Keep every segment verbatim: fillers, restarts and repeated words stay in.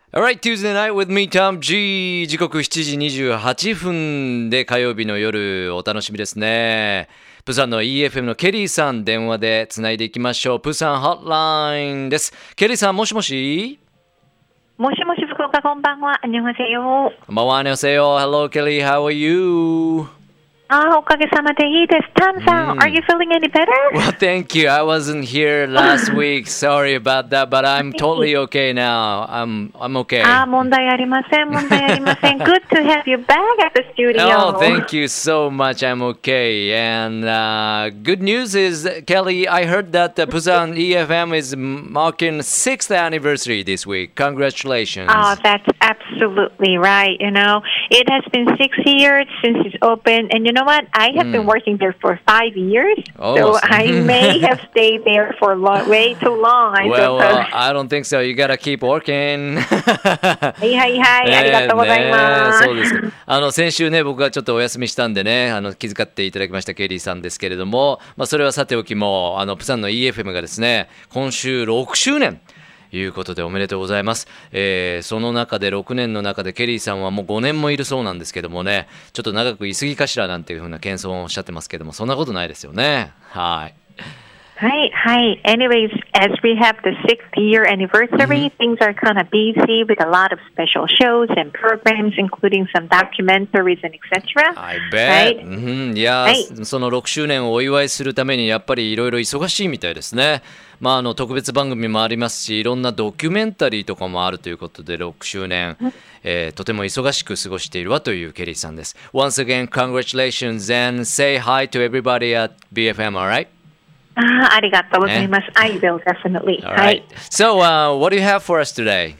Alright, Tuesday night with me, Tom G. 時刻しちじにじゅうはっぷんで火曜日の夜お楽しみですね。プサンの イーエフエム のケリーさん電話でつないでいきましょう。プサンホットラインです。ケリーさんもしもしもしもし福岡こんばんは。こんばんは。 こんばんは。こんばんは。Hello, Kelly. How are you? あ、おかげさまでいいです。タンさん、mm. Are you feeling any better? Well, thank you. I wasn't here last week. Sorry about that, but I'm totally okay now. I'm I'm okay. あ、問題ありません。問題ありません。Good to have you back at the studio. Oh, thank you so much. I'm okay. And uh, good news is, Kelly, I heard that the Busan イーエフエム is marking sixth anniversary this week. Congratulations. Oh, that's absolutely right. You know, it has been six years since it's opened, and you know what? I have mm. been working there for five years, oh, so I may have stayed there for long, way too long. I well, well, I don't think so. You gotta keep working. はいはいはい、ありがとうございます。 そうですか。あの先週ね、僕がちょっとお休みしたんでね、あの気遣っていただきましたケリーさんですけれども、まあそれはさておきも、あのプサンの イーエフエム がですね、今週ろくしゅうねん。いうことでおめでとうございます、えー、その中でろくねんの中でケリーさんはもうごねんもいるそうなんですけどもね、ちょっと長くいすぎかしらなんていうふうな謙遜をおっしゃってますけども、そんなことないですよね。はいはいはい。Anyways, as we have the sixth year anniversary, things are kind of busy with a lot of special shows and programs, including some documentaries and et cetera. I bet. うん、いや、はい、そのろくしゅうねんをお祝いするためにやっぱりいろいろ忙しいみたいですね。まあ、あの特別番組もありますし、いろんなドキュメンタリーとかもあるということでろくしゅうねん、えー、とても忙しく過ごしているわというケリーさんです。Once again, congratulations and say hi to everybody at ビーエフエム, alright? あ, ありがとうございます。I will definitely. All right. So, uh, what do you have for us today?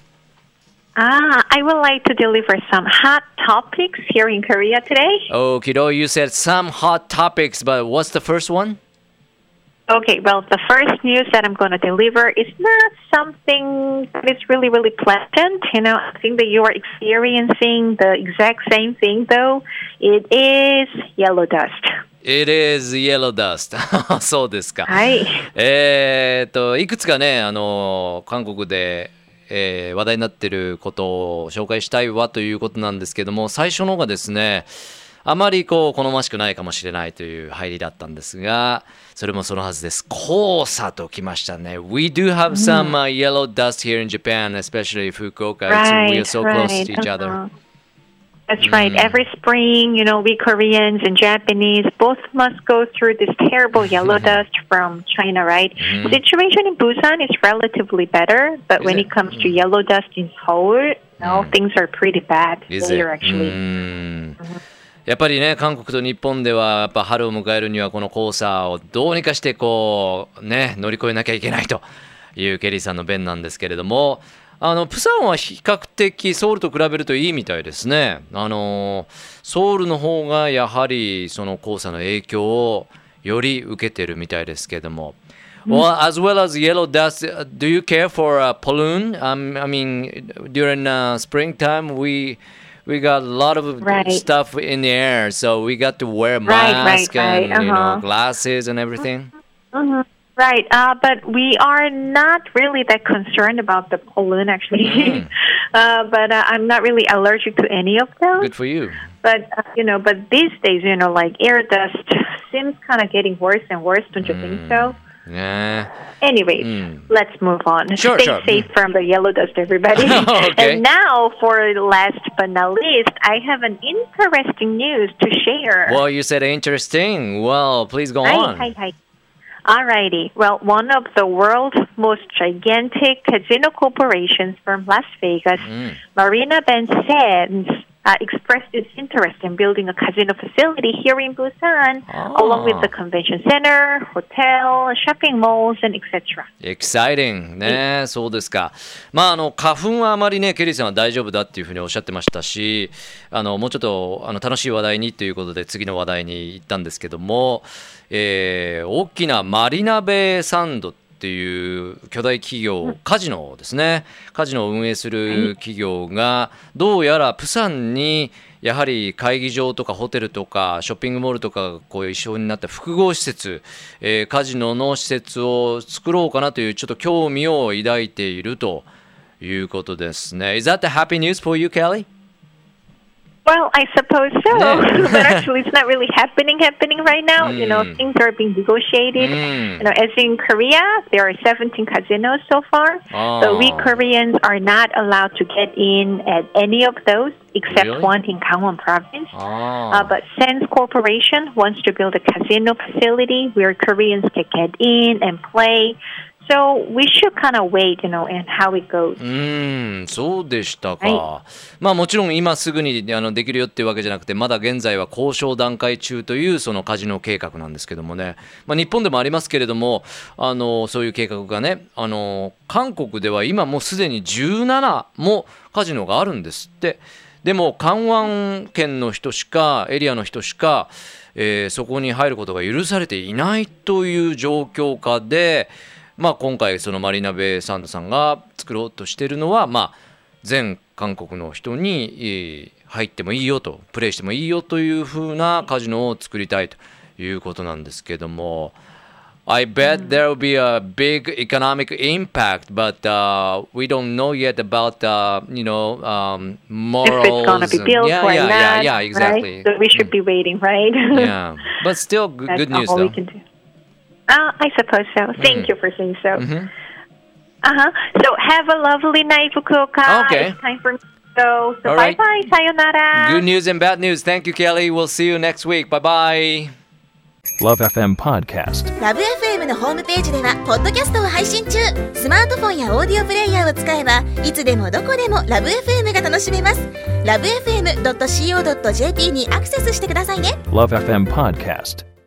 Ah, I would like to deliver some hot topics here in Korea today. Oh, Kido, you said some hot topics, but what's the first one? Okay, well, the first news that I'm going to deliver is not something that is really, really pleasant. You know, I think that you are experiencing the exact same thing, though. It is yellow dust.It is yellow dust. そうですか。 はい。 えー、っといくつかね、あの韓国で、えー、話題になっていることを紹介したいわということなんですけども、最初のがですね、あまりこう好ましくないかもしれないという入りだったんですが、それもそのはずです。黄砂ときましたね。We do have some、uh, yellow dust here in Japan, especially Fukuoka. Right, we are so right. close to each other.That's right. Mm. Every spring, you know, we Koreans and Japanese both must go through this terrible yellow dust from China, right? Mm. The situation in Busan is relatively better, but is when it, it comes mm. to yellow dust in Seoul, no, mm. things are pretty bad is here, it? actually. Mm. Mm-hmm.やっぱりね、韓国と日本ではやっぱ春を迎えるにはこの黄砂をどうにかしてこうね乗り越えなきゃいけないというケリーさんの弁なんですけれども、あのプサンは比較的ソウルと比べるといいみたいですね。あのソウルの方がやはりその黄砂の影響をより受けてるみたいですけれども、well, as well as yellow dust, do you care for a balloon?、Um, I mean, during、uh, springtime, we we got a lot of right. stuff in the air, so we got to wear right, masks right, right. and you uh-huh. know glasses and everything. Mm-hmm. Right, uh, but we are not really that concerned about the pollen, actually. Mm. uh, but uh, I'm not really allergic to any of them. Good for you. But uh, you know, but these days, you know, like air dust seems kind of getting worse and worse. Don't you mm. think so? Yeah. Anyways, mm. let's move on. Sure, Stay sure. safe from the yellow dust, everybody. Okay. And now, for last but not least, I have an interesting news to share. Well, you said interesting. Well, please go hi, on. Hi, hi. Alrighty. Well, one of the world's most gigantic casino corporations from Las Vegas, mm. Marina Bay Sands, uh, expressed its interest in building a casino facility here in Busan, oh. along with the convention center, hotel, shopping malls, and et cetera. Exciting ね、そうですか。まああの花粉はあまりねケリーさんは大丈夫だっていうふうにおっしゃってましたし、あのもうちょっとあの楽しい話題にということで次の話題に行ったんですけども、えー、大きなマリナベイサンドっていう巨大企業、カジノですね、カジノを運営する企業がどうやらプサンにやはり会議場とかホテルとかショッピングモールとかがこう一緒になった複合施設、えー、カジノの施設を作ろうかなというちょっと興味を抱いているということですね。Is that the happy news for you, Kelly? Well, I suppose so. Yeah. But actually, it's not really happening happening right now. Mm. You know, things are being negotiated. Mm. You know, as in Korea, there are seventeen casinos so far. Oh. But we Koreans are not allowed to get in at any of those except Really? one in Gangwon province. Oh. Uh, but Sands Corporation wants to build a casino facility where Koreans can get in and play. So we should kind of wait, you know, and how it goes. うーん、そうでしたか。 はまあもちろん今すぐにあのできるよっていうわけじゃなくて、まだ現在は交渉段階中というそのカジノ計画なんですけどもね。まあ日本でもありますけれども、あのそういう計画がね、あの韓国では今もうすでにじゅうななもカジノがあるんですって。でも港湾圏の人しかエリアの人しか、えーそこに入ることが許されていないという状況下で。まあ、今回そのマリーナベイサンドさんが作ろうとしているのは、まあ、全韓国の人に入ってもいいよとプレイしてもいいよというふうなカジノを作りたいということなんですけども I bet there will be a big economic impact but、uh, we don't know yet about uh, you know um, morals If it's going to be built yeah, or yeah, not, yeah, yeah, exactly. Right? So we should be waiting, right? Yeah, but still good, That's good news all though. we can do. Uh, I suppose so. Thank Mm. you for saying so. Mm-hmm. Uh-huh. So have a lovely night, Fukuoka. Okay. It's time for me to go. So All right. bye-bye. Sayonara. Good news and bad news. Thank you, Kelly. We'll see you next week. Bye bye. Love エフエム Podcast。 ラブ エフエム のホームページではポッドキャストを配信中。スマートフォンやオーディオプレイヤーを使えばいつでもどこでもラブ エフエム が楽しめます。ラブ エフエムドットシーオードットジェーピー にアクセスしてくださいね。 Love エフエム Podcast。